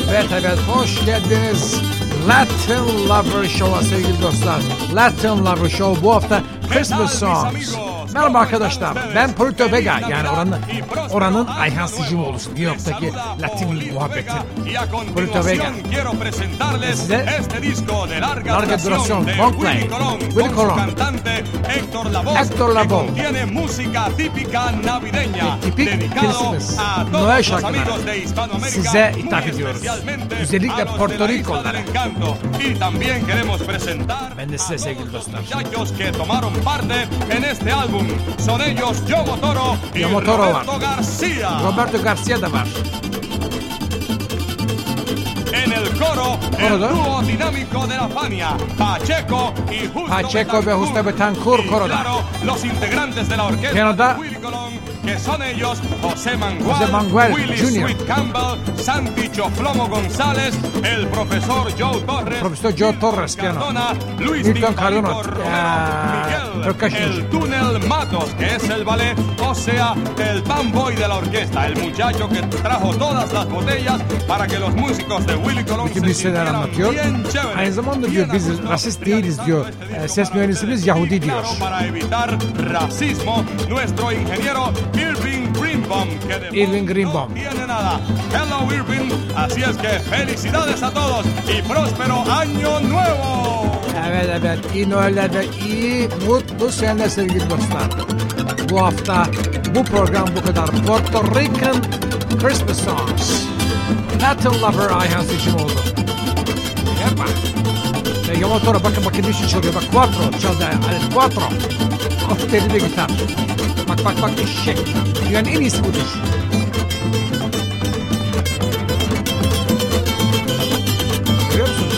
Evet, hoş geldiniz Latin Lover Show'a sevgili dostlar. Latin Lover Show bu hafta Christmas Songs. Merhaba arkadaşlar, ben Puerto Vega, yani oranın Ayhan Sicimoğlu'su, New York'taki Latin muhabbeti. Puerto Vega. Size larga duración, long play, Willy Colón, Héctor Lavoe, tipik Christmas, Noel şarkıları size ithaf ediyoruz. Özellikle Puerto Rico'lara. Ben de size sevgili dostlar. Son ellos Yogo Toro y Roberto García. Roberto García da var. En el coro, el dúo dinámico de la Fania, Pacheco ve Justo Betancourt koroda. Claro, los integrantes de la orquesta de Willy Colón, que son ellos José Mangual, Willy Jr., Sweet Campbell, Santi Choflomo González, el profesor Joe Torres, Cardona, Luis Milton Cardona, Miguel, el Túnel Matos, que es el ballet, o sea, el fanboy de la orquesta, el muchacho que trajo todas las botellas para que los músicos de Willy Colón se sintieran bien chévere. Aynı zamanda diyor biz rasist değiliz diyor. Ses mühendisimiz Yahudi diyor. Para evitar racismo, nuestro ingeniero Irving Greenbaum, que de Greenbaum no tiene nada. Hello Irving, así es que felicidades a todos y próspero año nuevo. Evet, iyi Noeller ve iyi mutlu seneler sevgili dostlar. Bu hafta bu program bu kadar. Puerto Rican Christmas Songs. Latin Lover Ayhan Sicimoğlu. Yapma. Yogo Toro bakın ne için çalıyor. Bak quattro çaldı. Alet quattro. Of deride gitar. Bak eşek. Dünyanın en iyisi budur. Görüyor musunuz?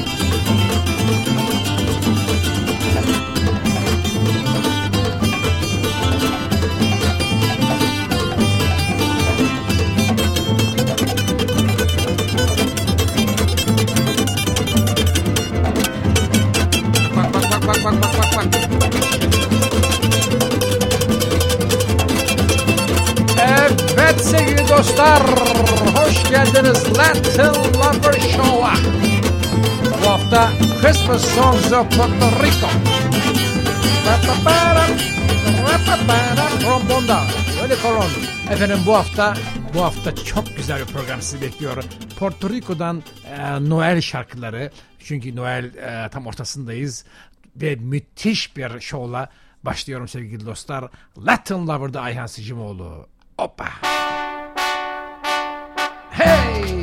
Bak. Evet sevgili dostlar, hoş geldiniz Latin Lover Show'a. Bu hafta Christmas Songs of Puerto Rico. Trombonda Willy Colón. Efendim bu hafta çok güzel bir program sizi bekliyor. Puerto Rico'dan Noel şarkıları. Çünkü Noel tam ortasındayız. Ve müthiş bir şovla başlıyorum sevgili dostlar. Latin Lover'da Ayhan Sicimoğlu. Hoppa. Hey!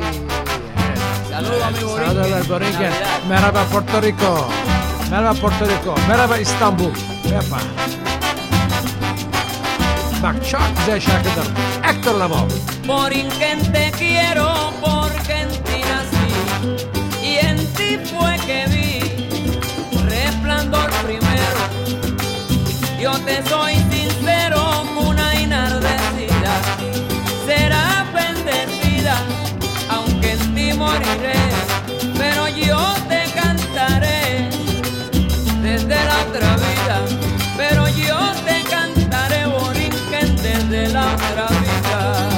Saludos Borinquen. Merhaba Puerto Rico. Merhaba İstanbul. Yapma. Bak çok güzel şarkıdır. Héctor Lavoe. Borinquen te quiero porque en ti nací y en ti fue que vi resplandor primero. Yo te soy sincero, una enardecida será bendecida, aunque en ti moriré, pero yo te cantaré desde la otra vida, pero yo te cantaré Borinquen desde la otra vida.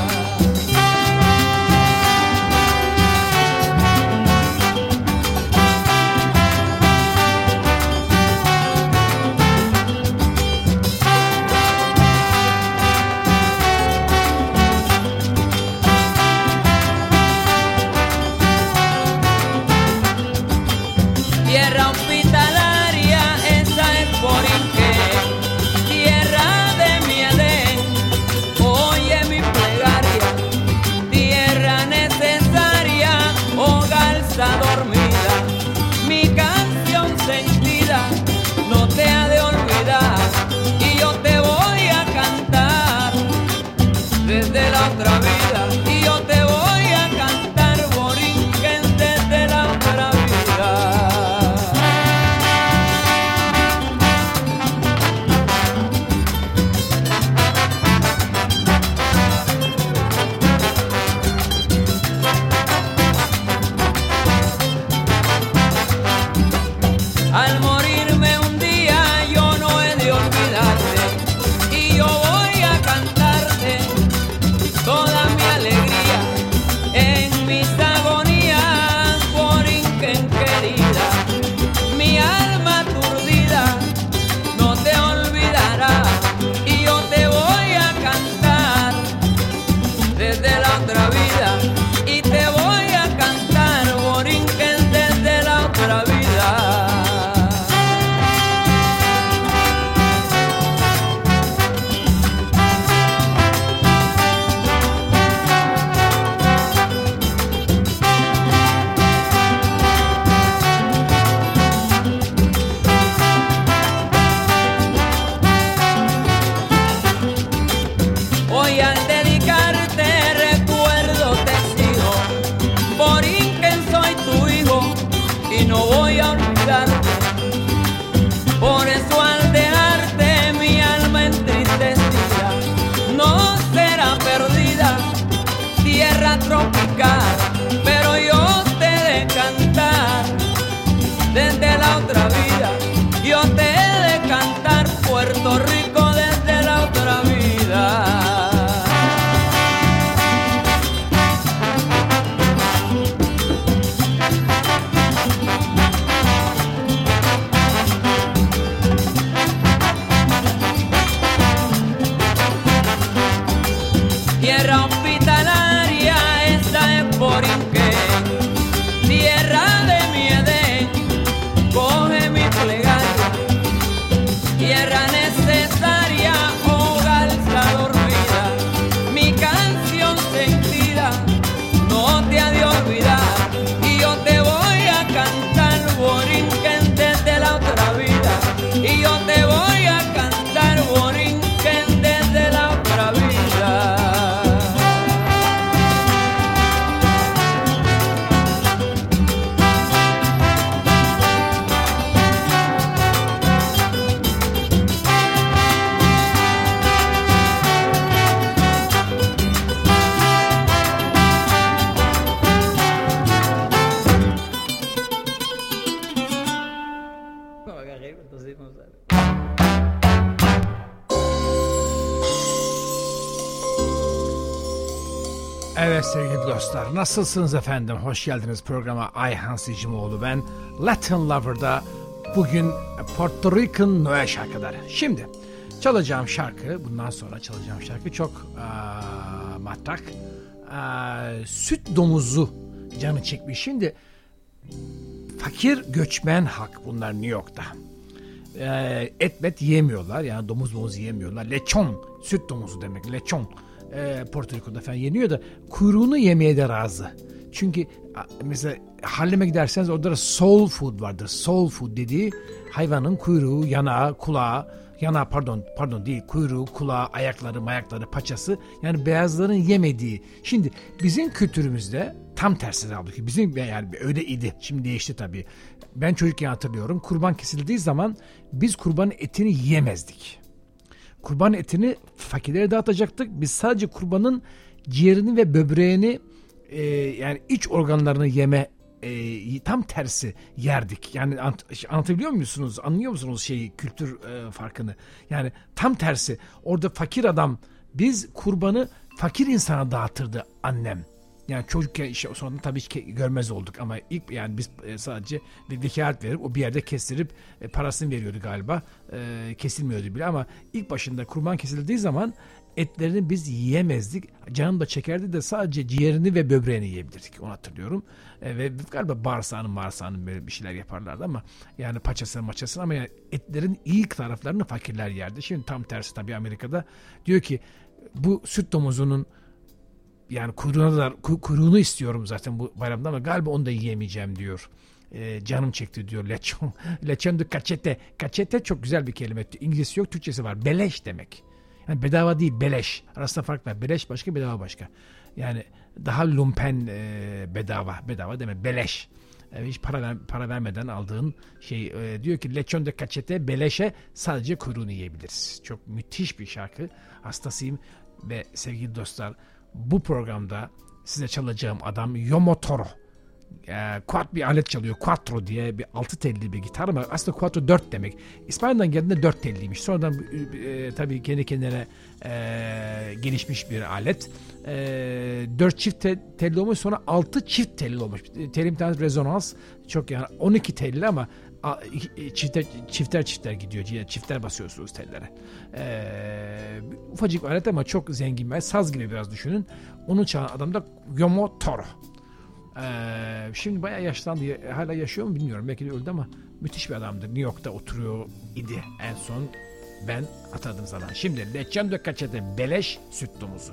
Evet sevgili dostlar, nasılsınız efendim? Hoş geldiniz programa. Ayhan Sicimoğlu ben. Latin Lover'da bugün Puerto Rican Noel şarkıları. Şimdi çalacağım şarkı, bundan sonra çalacağım şarkı çok matrak. Süt domuzu canı çekmiş. Şimdi fakir göçmen halk bunlar New York'ta. Et yiyemiyorlar, yani domuz yiyemiyorlar. Lechon, süt domuzu demek, lechon. Porto Rico'da falan yeniyor da kuyruğunu yemeye de razı. Çünkü mesela Harlem'e giderseniz orada da soul food vardır. Soul food dediği hayvanın kuyruğu, yanağı, kulağı, yanağı pardon değil, kuyruğu, kulağı, ayakları, paçası, yani beyazların yemediği. Şimdi bizim kültürümüzde tam tersi halbuki. Bizim yani öyle idi. Şimdi değişti tabii. Ben çocukken hatırlıyorum. Kurban kesildiği zaman biz kurbanın etini yiyemezdik. Kurban etini fakirlere dağıtacaktık. Biz sadece kurbanın ciğerini ve böbreğini yani iç organlarını yeme tam tersi yerdik. Yani anlatabiliyor musunuz? Anlıyor musunuz kültür farkını? Yani tam tersi. Orada fakir adam, biz kurbanı fakir insana dağıtırdı annem. Yani çocukken sonra tabii ki görmez olduk ama ilk yani biz sadece bir vekalet verip o bir yerde kestirip parasını veriyordu galiba. Kesilmiyordu bile ama ilk başında kurban kesildiği zaman etlerini biz yiyemezdik. Canım da çekerdi de sadece ciğerini ve böbreğini yiyebilirdik. Onu hatırlıyorum. Ve galiba bağırsağının böyle bir şeyler yaparlardı ama yani paçasını ama yani etlerin iyi taraflarını fakirler yerdi. Şimdi tam tersi tabii Amerika'da. Diyor ki bu süt domuzunun yani kuyruğunu istiyorum zaten bu bayramda ama galiba onu da yiyemeyeceğim diyor. Canım çekti diyor. Lechon de cachete. Cachete çok güzel bir kelime. İngilizcesi yok, Türkçesi var. Beleş demek. Yani bedava değil, beleş. Arasında fark var. Beleş başka, bedava başka. Yani daha lumpen bedava. Bedava demek. Beleş. Hiç para vermeden aldığın şey. Diyor ki lechon de cachete, beleşe sadece kuyruğunu yiyebiliriz. Çok müthiş bir şarkı. Hastasıyım ve sevgili dostlar, bu programda size çalacağım adam Yomotoro. Quad bir alet çalıyor. Quattro diye bir 6 telli bir gitar ama aslında quattro 4 demek. İspanya'dan geldiğinde 4 telliymiş. Sonradan tabii kendi kendine gelişmiş bir alet. 4 çift telli olmuş, sonra 6 çift telli olmuş. Telli bir tane rezonans. Çok yani 12 telli ama çifter gidiyor. Çifter basıyorsunuz tellere. Ufacık bir alet ama çok zengin bir saz gibi biraz düşünün. Onu çalan adam da Yomotoro. Şimdi bayağı yaşlandı. Hala yaşıyor mu bilmiyorum. Belki de öldü ama müthiş bir adamdır. New York'ta oturuyor idi en son. Ben atadım sana. Şimdi Lechon de Cachete, beleş süt domuzu.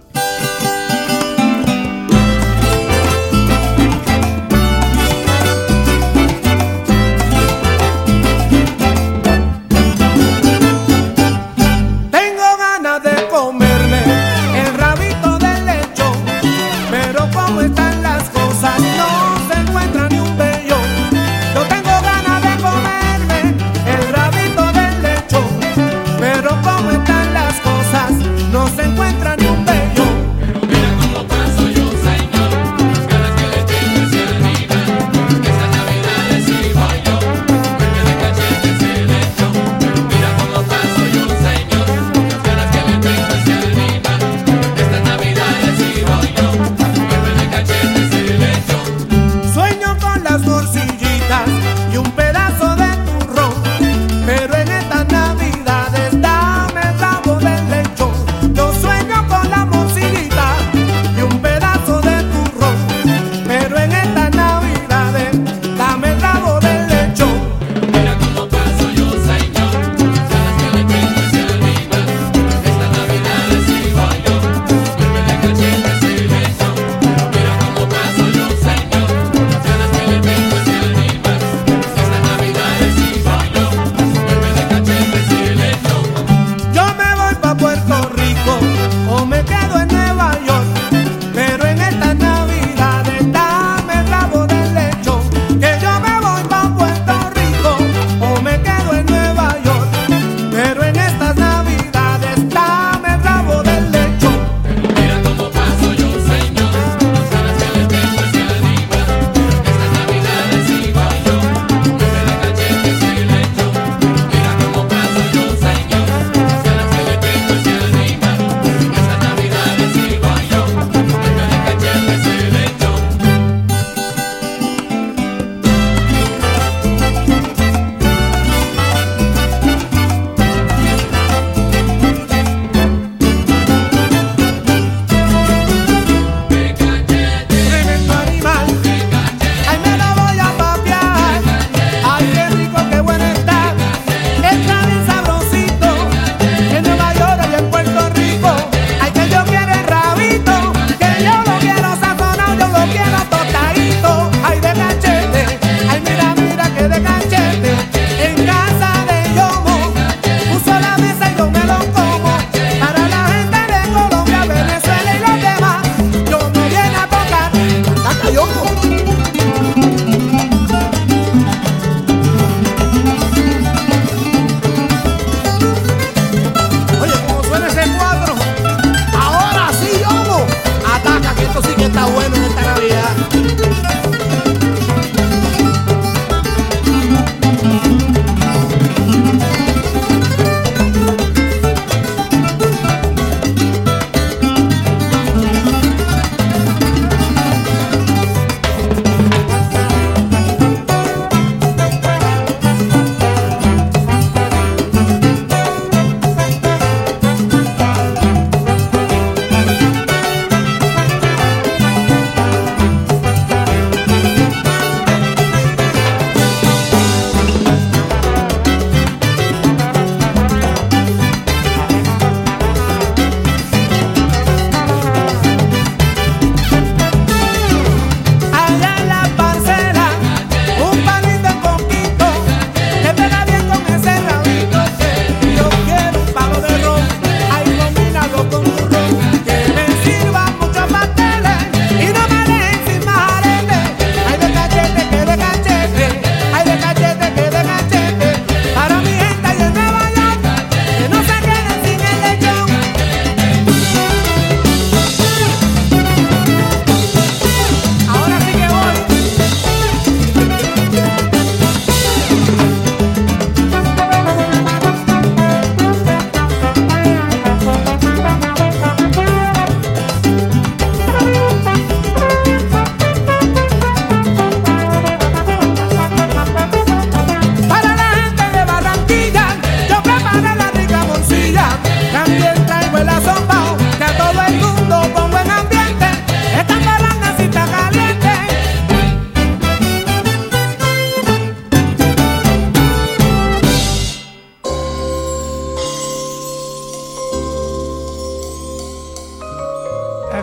No se encuentra ni un bello. Pero mira cómo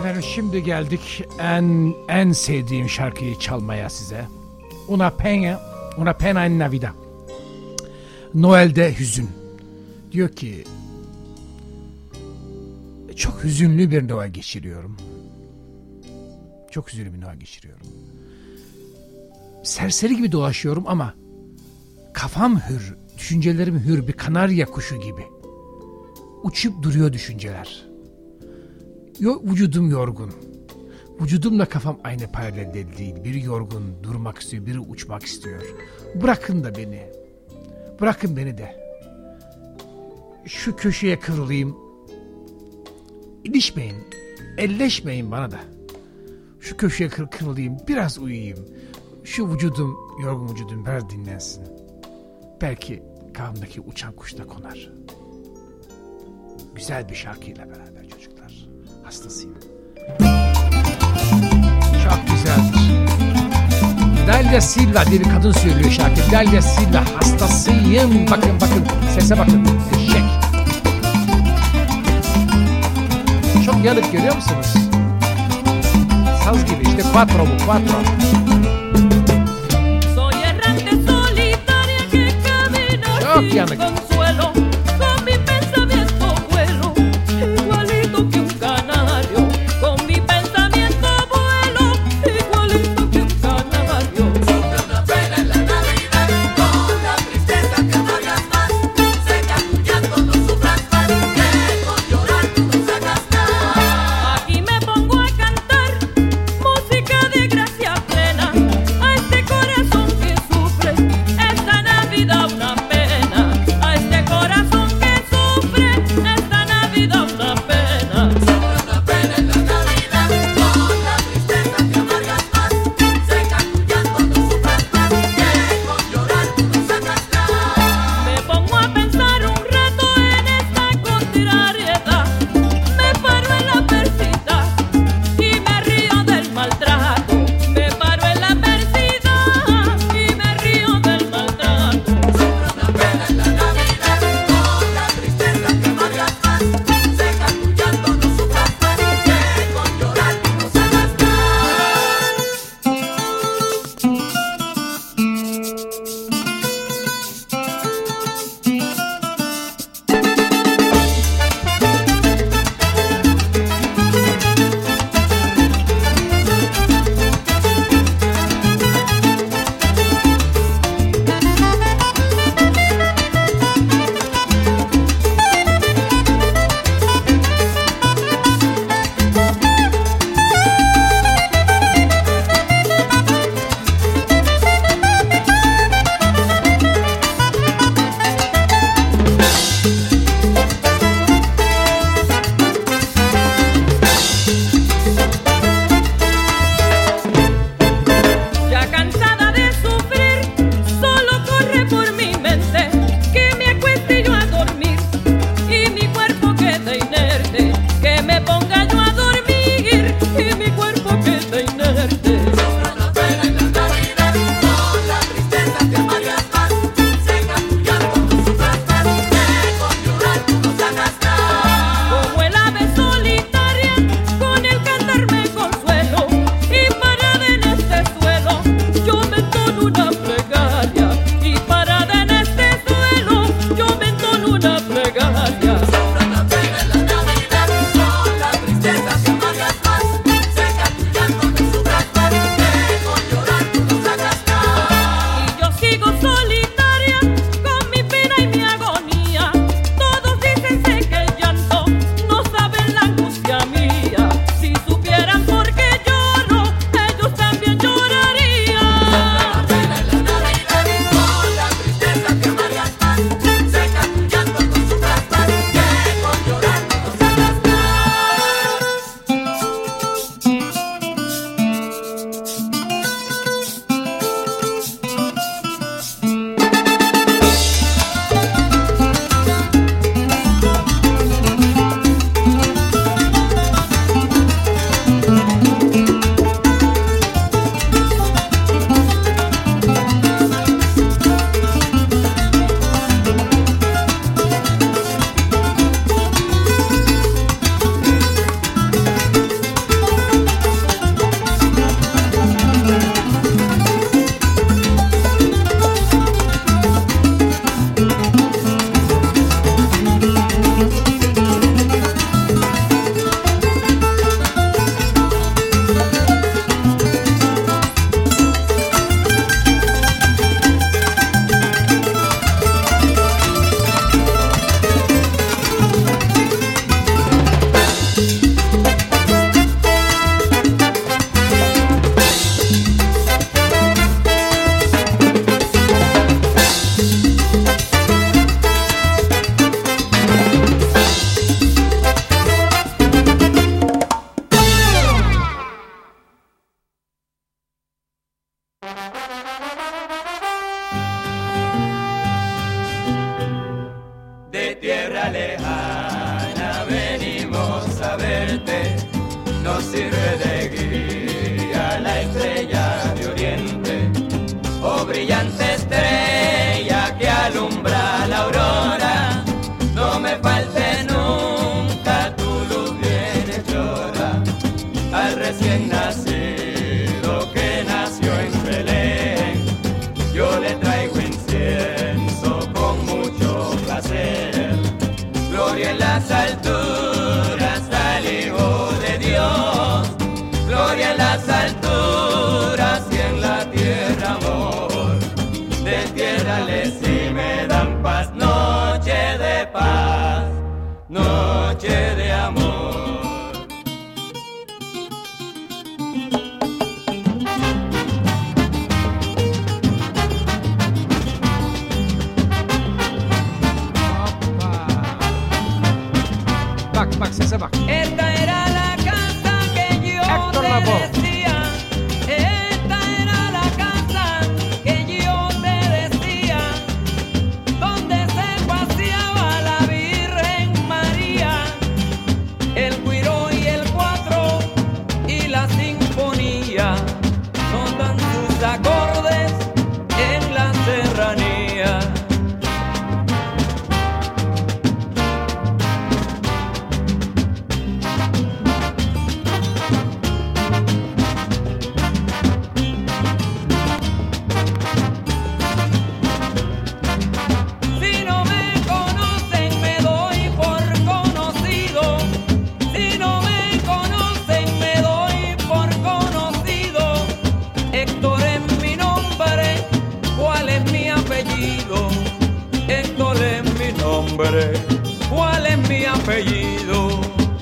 Efendim şimdi geldik en sevdiğim şarkıyı çalmaya size. Una pena en Navidad. Noel'de hüzün. Diyor ki çok hüzünlü bir Noel geçiriyorum. Çok hüzünlü bir Noel geçiriyorum. Serseri gibi dolaşıyorum ama kafam hür, düşüncelerim hür, bir kanarya kuşu gibi. Uçup duruyor düşünceler. Vücudum yorgun. Vücudumla kafam aynı paralelde değil. Biri yorgun, durmak istiyor, biri uçmak istiyor. Bırakın da beni. Bırakın beni de. Şu köşeye kırılayım. İlişmeyin, elleşmeyin bana da. Şu köşeye kırılayım, biraz uyuyayım. Şu vücudum, yorgun vücudum biraz dinlensin. Belki kafamdaki uçan kuş da konar. Güzel bir şarkıyla beraber çocuklar. Hastasıyım. Çok güzeldir. Dalia Silva diye bir kadın söylüyor şarkı. Dalia Silva, hastasıyım. Bakın, sese bakın. Eşek. Çok yanık, görüyor musunuz? Saz gibi işte, quattro bu, quattro. Çok yanık. nos sirve de guía la estrella de oriente, oh brillante estrella que alumbra la aurora, no me falte nunca tu luz bien hechora, al recién nacido que nació en Belén, yo le traigo incienso con mucho placer, gloria en las alturas al Hijo de Dios, gloria en las alturas y en la tierra amor, despiérales y me dan paz, noche de paz, noche de amor. Bak sese bak. Esta era la casa que yo Héctor te Lavoe. decía. Esta era la casa que yo te decía, donde se paseaba la Virgen María, el güiro y el cuatro y la sinfonía, notan sus acordes en la serranía. Si no me conocen me doy por conocido, si no me conocen me doy por conocido, Héctor es mi nombre, ¿cuál es mi apellido? Héctor es mi nombre, ¿cuál es mi apellido?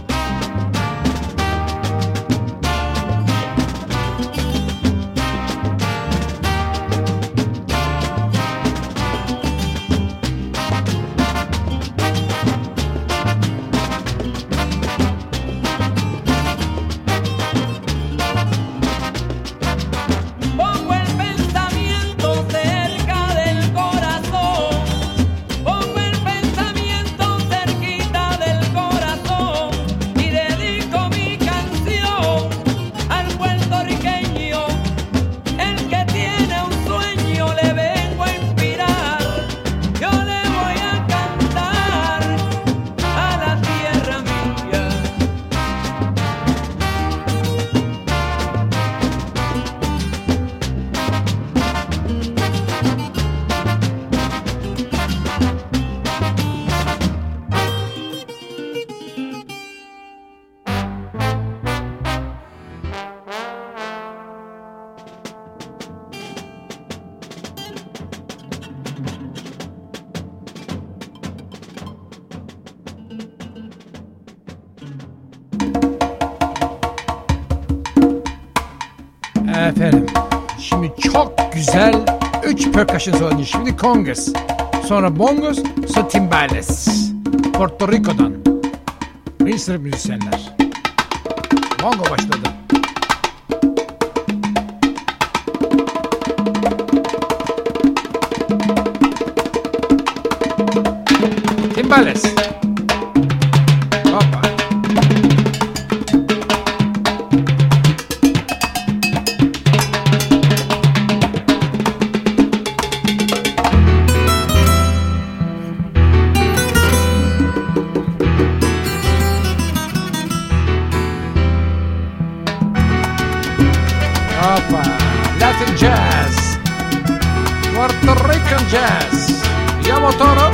Pongo el pensamiento cerca del corazón, pongo el pensamiento cerquita del corazón y dedico mi canción al puertorriqueño, el que tiene un sueño le vengo a inspirar, yo le voy a cantar a la tierra mía. Efendim, şimdi çok güzel 3 percussion solo. Şimdi congas, sonra bongos, sonra timbales. Porto Rico'dan. Bir sürü müzisyenler. Bongo başladı. Timbales. Hoppa. Hoppa. Latin jazz. Puerto Rican jazz. Llamo Toro.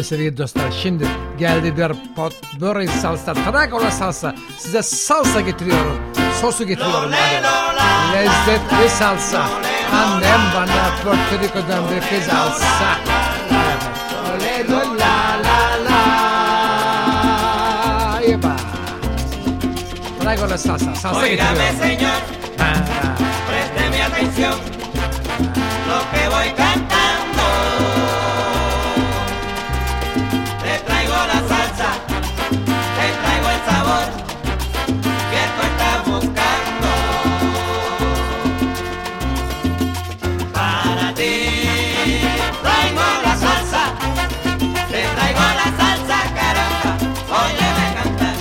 Evet sevgili dostlar, şimdi geldi bir potpourri salsa, Tragola salsa. Size salsa getiriyorum, sosu getiriyorum. Lezzetli salsa. Annem bana Puerto Rico'dan bir kez alsa. Evet. La la la. Eba. Tragola salsa, salsa getiriyorum. Óigame, señor, présteme atención, lo que voy cantando. Te traigo la salsa, te traigo el sabor que tú estás buscando. Para ti traigo la salsa, te traigo la salsa, caramba, óyeme cantar.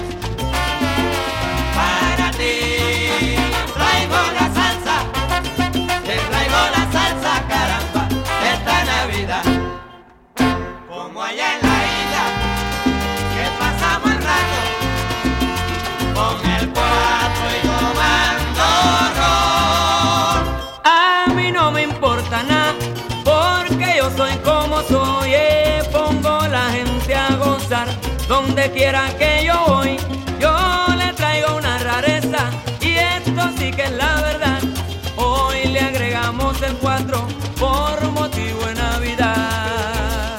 Para ti traigo la salsa, te traigo la salsa, caramba, esta Navidad. Como allá en la isla, que pasamos el rato con el cuatro y tomando ron. A mí no me importa nada, porque yo soy como soy, pongo la gente a gozar, donde quiera que yo voy, yo le traigo una rareza, y esto sí que es la verdad, hoy le agregamos el 4 por motivo de Navidad.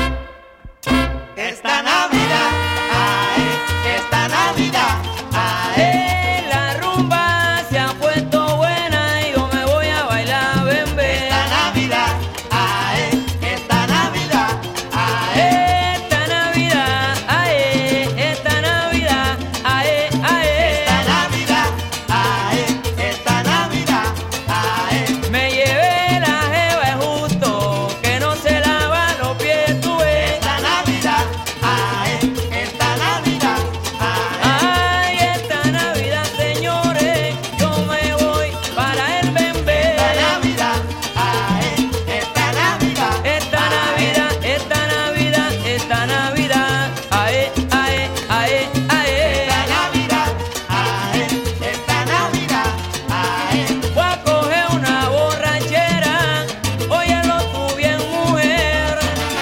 Esta Navidad, ay, esta Navidad, ay, la rumba se ha puesto buena y yo me voy a bailar bembé. Esta Navidad, ay, esta Navidad, ay, esta Navidad, ay, esta Navidad, ay, ay, esta Navidad, ay, esta Navidad, ay, me llevé la jeva es justo que no se lava los pies, tú ves. Esta Navidad, ay, esta Navidad, ay, esta Navidad, señores, yo me voy para el bembé. Esta Navidad, ay, esta Navidad, esta Navidad, esta Navidad, esta Navidad, ay, ay, ay, ay, esta Navidad, ay, esta Navidad, ay, voy a coger una borrachera, óyelo tú bien, mujer.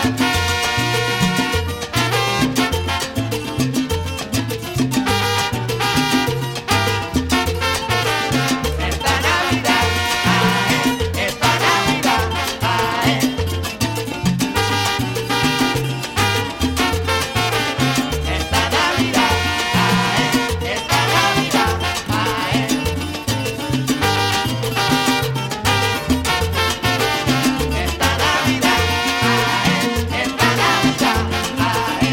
Esta Navidad, ay, esta Navidad, ay, esta Navidad, ay, esta Navidad, ay, esta Navidad, ay, esta Navidad, ay.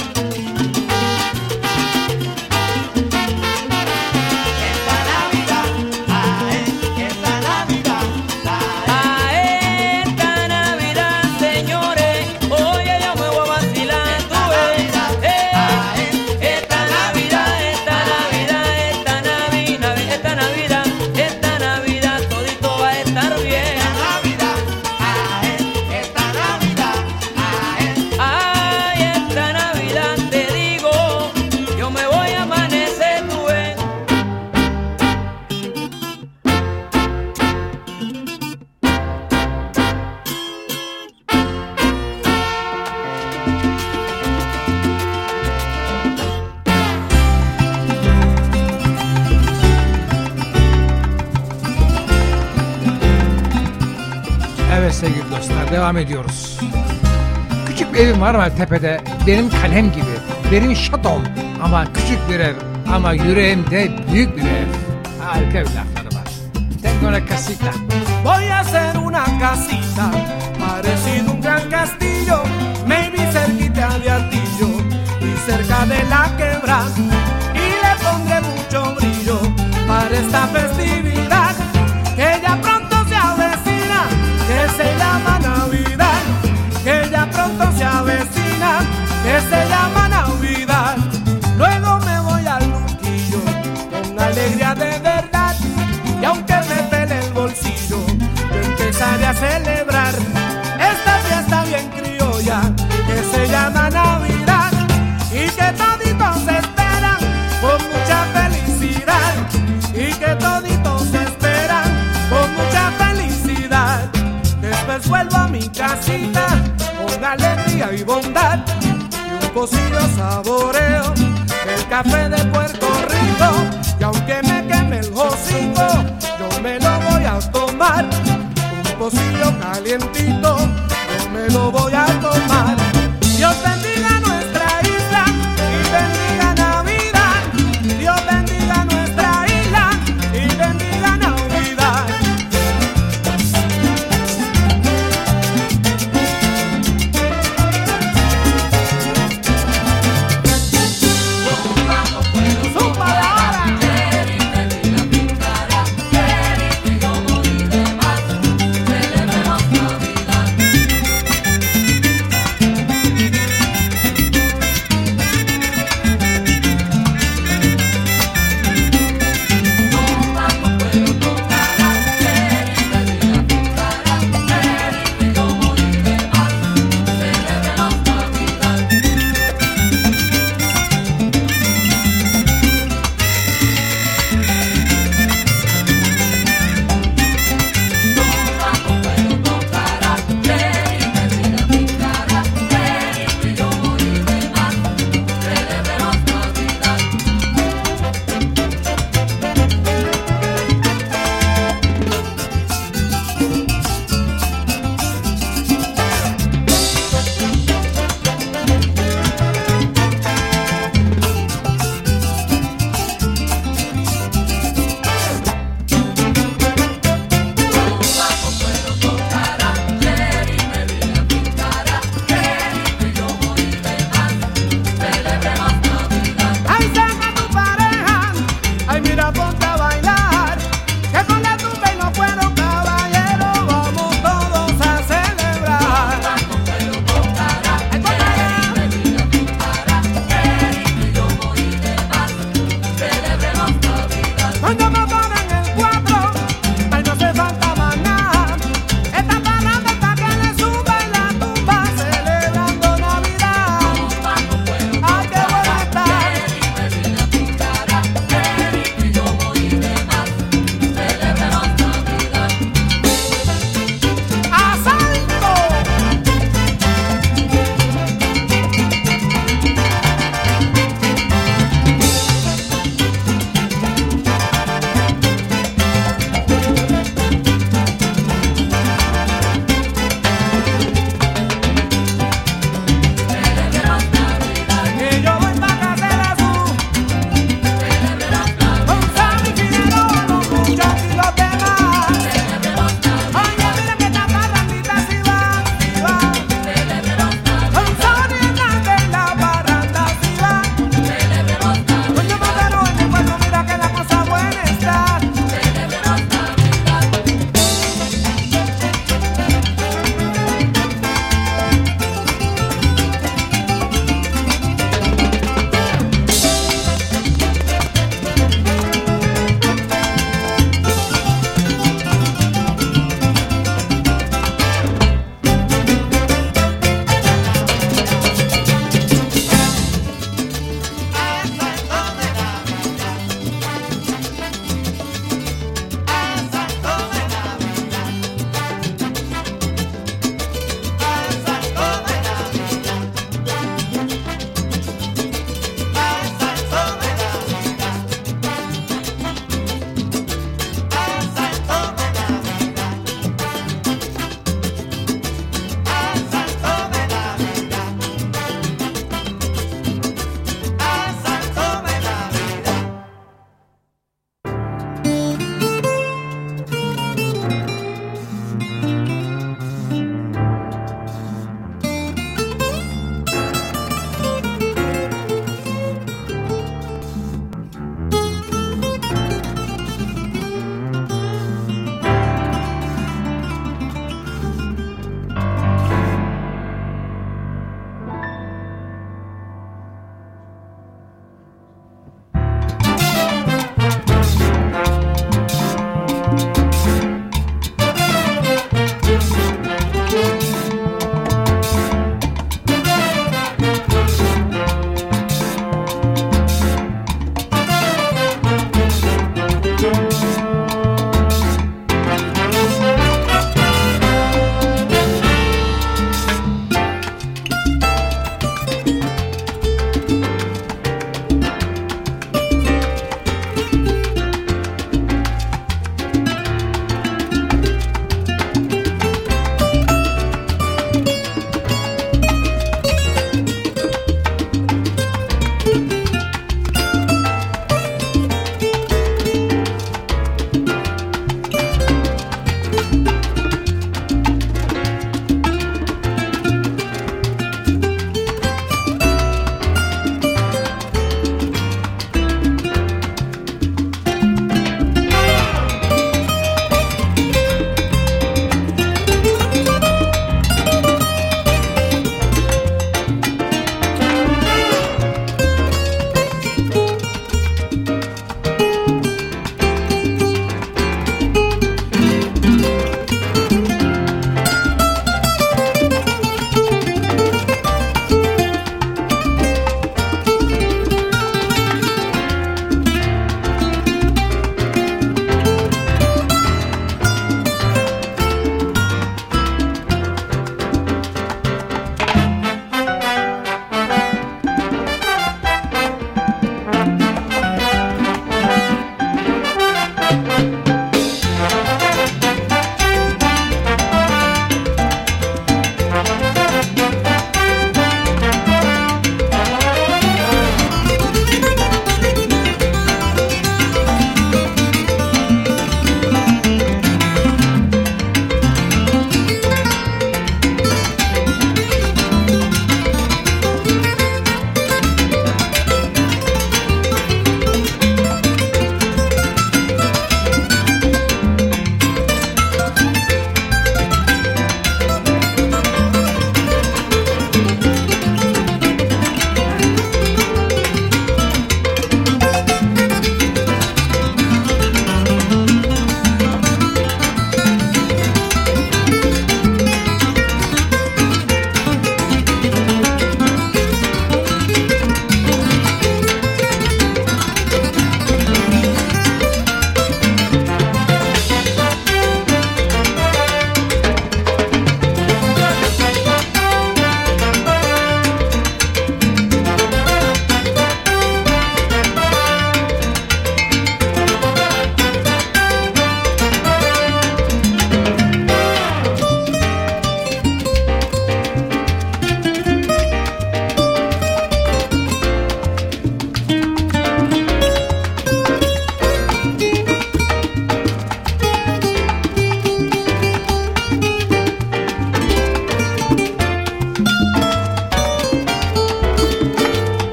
Esta Navidad, ay, esta Navidad, ay, esta Navidad, señores, oye, yo me voy a vacilar, tú ves. Esta Navidad, esta Navidad, esta Navidad, esta Navidad, esta Navidad, todito va a estar bien. Esta Navidad, ay, esta Navidad, ay, esta Navidad, te digo, yo me voy a amanecer, tú ves. Evet sevgili dostlar, devam ediyoruz. Küçük bir evim var ama tepede, benim kalem gibi, benim şatom ama küçük bir ev ama yüreğimde büyük bir ev. Harika bir lafları var. Tengo una casita. Voy a hacer una casita, parecido un gran castillo, maybe cerquita de Artillo y cerca de la quebrada, y le pondré mucho brillo para esta festividad que ya pronto se avecina, que se llama Navidad, que ya pronto se avecina, que se llama Navidad. Luego me voy al Luquillo con alegría de verdad, y aunque me pele el bolsillo, yo empezaré a celebrar esta fiesta bien criolla que se llama Navidad, y que toditos esperan con mucha felicidad, y que toditos esperan con mucha felicidad. Después vuelvo a mi casita con alegría y bondad y un pocillo saboreo el café de Puerto Rico. Y aunque me queme el hocico, yo me lo voy a tomar. Un pocillo calientito, yo me lo voy a tomar. Dios bendiga nuestra isla y bendiga Navidad. Dios bendiga nuestra isla y bendiga Navidad.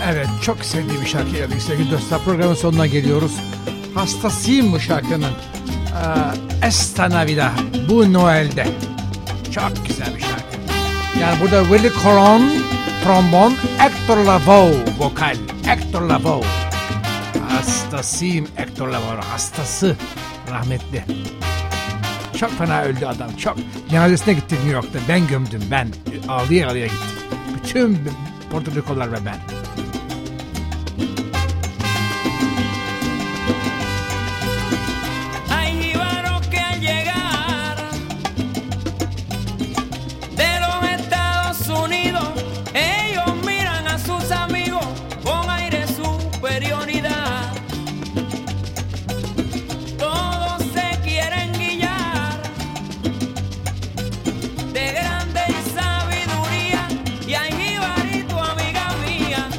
Evet, çok sevdiğim bir şarkı geldik sevgili dostlar. Programın sonuna geliyoruz. Hastasıyım bu şarkının. Esta Navidad, bu Noel'de. Çok güzel bir şarkı. Yani burada Willie Colon, trombon, Hector Lavoe, vokal. Hector Lavoe. Hastasıyım Hector Lavoe, hastası. Rahmetli. Çok fena öldü adam, çok. Cenazesine gitti New York'ta. Ben gömdüm, ben. Ağlıya ağlıya gittim. Bütün Porto Rikolar ve ben. De grande sabiduría y hay jibarito, amiga mía.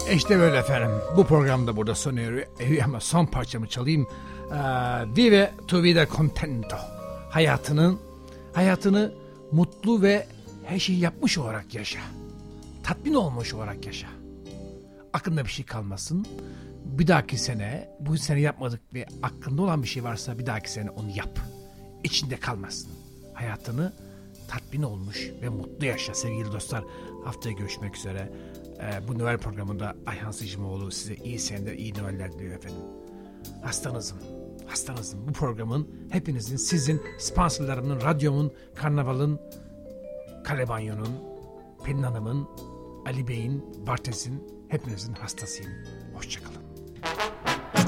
İşte böyle efendim. Bu program da burada sona eriyor. Ama son parçamı çalayım. Vive tu vida contento. Hayatını mutlu ve her şeyi yapmış olarak yaşa. Tatmin olmuş olarak yaşa. Aklında bir şey kalmasın. Bir dahaki sene, bu sene yapmadık ve aklında olan bir şey varsa bir dahaki sene onu yap. İçinde kalmasın. Hayatını tatmin olmuş ve mutlu yaşa sevgili dostlar. Haftaya görüşmek üzere. Bu Noel programında Ayhan Sicimoğlu size iyi seneler, iyi Noeller diliyor efendim. Hastanızım. Bu programın, hepinizin, sizin, sponsorlarımın, radyomun, Karnaval'ın, Kalebanyo'nun, Pelin Hanım'ın, Ali Bey'in, Bartes'in, hepinizin hastasıyım. Hoşçakalın.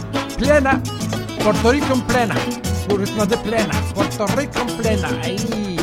Plena, Puerto Rico plena. Bu ritmada plena, Puerto Rico plena. Ay.